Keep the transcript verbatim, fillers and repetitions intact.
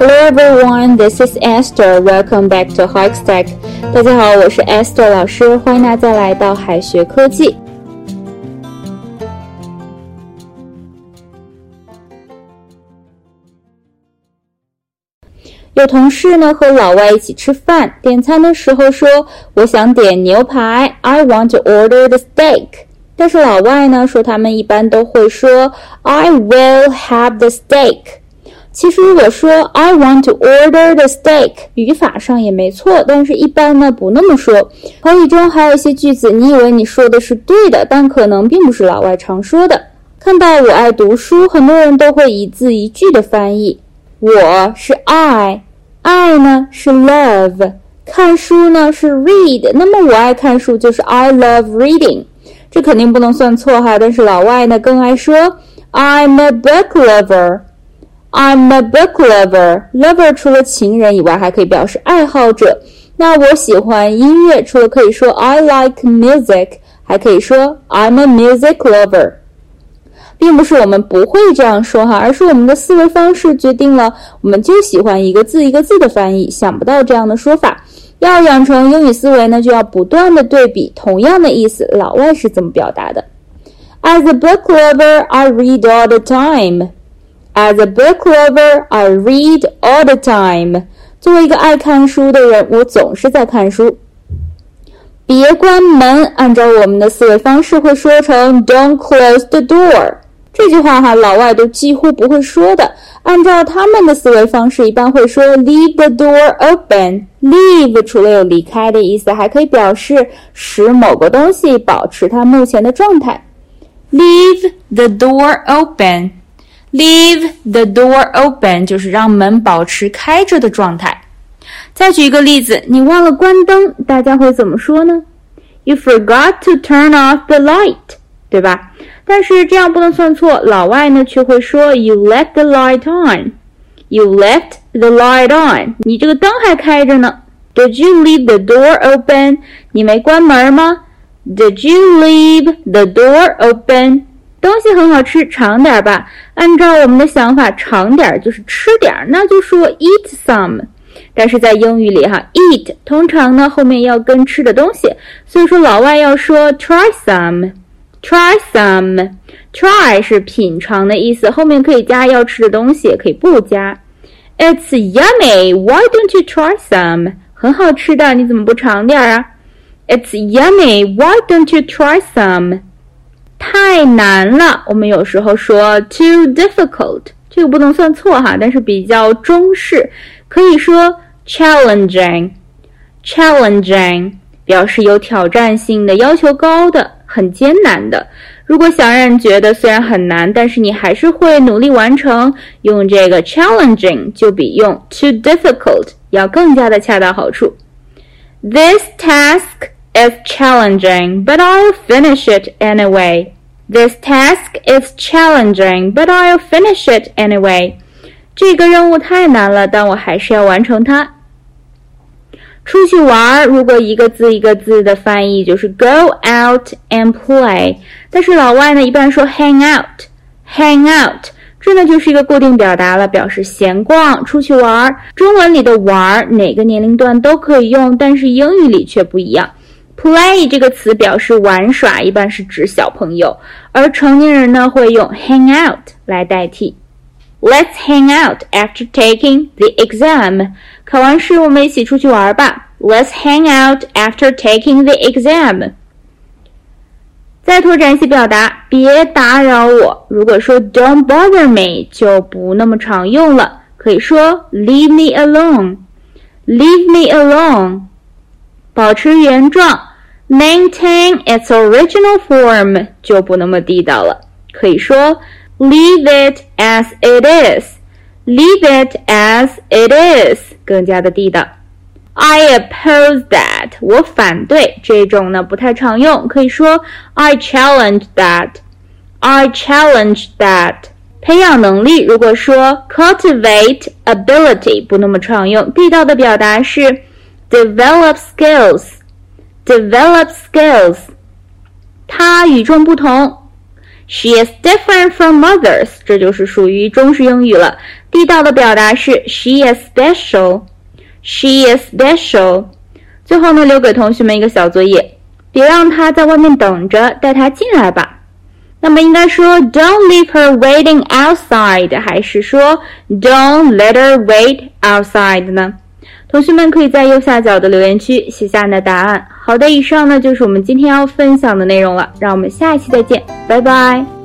Hello everyone, this is Esther. Welcome back to Hikestack. 大家好，我是 Esther 老师，欢迎大家来到海学科技。有同事呢和老外一起吃饭，点餐的时候说我想点牛排 I want to order the steak， 但是老外呢说他们一般都会说 I will have the steak。 其实如果说 I want to order the steak 语法上也没错，但是一般呢不那么说。口语中还有一些句子你以为你说的是对的，但可能并不是老外常说的。看到我爱读书，很多人都会一字一句的翻译，我是 I， 爱呢是 love， 看书呢是 read， 那么我爱看书就是 I love reading， 这肯定不能算错哈。但是老外呢更爱说 I'm a book lover，I'm a book lover. Lover 除了情人以外还可以表示爱好者。那我喜欢音乐，除了可以说 I like music， 还可以说 I'm a music lover。 并不是我们不会这样说哈，而是我们的思维方式决定了我们就喜欢一个字一个字的翻译，想不到这样的说法。要养成英语思维呢，就要不断的对比同样的意思老外是怎么表达的。 As a book lover, I read all the time.As a book lover, I read all the time. 作为一个爱看书的人，我总是在看书。别关门，按照我们的思维方式会说成 Don't close the door。 这句话哈，老外都几乎不会说的。按照他们的思维方式，一般会说 Leave the door open。 Leave 除了有离开的意思，还可以表示使某个东西保持它目前的状态。 Leave the door open。Leave the door open 就是让门保持开着的状态。再举一个例子，你忘了关灯，大家会怎么说呢？ You forgot to turn off the light， 对吧？但是这样不能算错，老外呢却会说 You left the light on。 You left the light on， 你这个灯还开着呢。 Did you leave the door open？ 你没关门吗？ Did you leave the door open？东西很好吃，尝点吧。按照我们的想法，尝点就是吃点，那就说 eat some。 但是在英语里哈 eat 通常呢后面要跟吃的东西，所以说老外要说 try some try some try 是品尝的意思，后面可以加要吃的东西，也可以不加。 It's yummy, why don't you try some？ 很好吃的，你怎么不尝点啊？ It's yummy, why don't you try some？太难了，我们有时候说 too difficult， 这个不能算错哈，但是比较中式，可以说 challenging challenging 表示有挑战性的，要求高的，很艰难的。如果想让人觉得虽然很难，但是你还是会努力完成，用这个 challenging 就比用 too difficult 要更加的恰到好处。 This task is challenging, but I'll finish it anyway. This task is challenging, but I'll finish it anyway. 这个任务太难了，但我还是要完成它。出去玩，如果一个字一个字的翻译就是 go out and play， 但是老外呢一般说 hang out hang out， 这呢就是一个固定表达了，表示闲逛出去玩。中文里的玩哪个年龄段都可以用，但是英语里却不一样。Play 这个词表示玩耍，一般是指小朋友，而成年人呢会用 hang out 来代替。 Let's hang out after taking the exam。 考完试我们一起出去玩吧。 Let's hang out after taking the exam。 再拓展一些表达，别打扰我，如果说 don't bother me 就不那么常用了，可以说 leave me alone leave me alone。 保持原状Maintain its original form 就不那么地道了，可以说 Leave it as it is Leave it as it is 更加的地道。 I oppose that 我反对，这种呢不太常用，可以说 I challenge that I challenge that。 培养能力，如果说 cultivate ability 不那么常用，地道的表达是 develop skills Develop skills。 他与众不同 She is different from others， 这就是属于中式英语了。地道的表达是 She is special， She is special。 最后呢，留给同学们一个小作业，别让她在外面等着，带她进来吧。那么应该说 Don't leave her waiting outside， 还是说 Don't let her wait outside 呢？同学们可以在右下角的留言区写下你的答案。好的，以上呢就是我们今天要分享的内容了，让我们下一期再见，拜拜。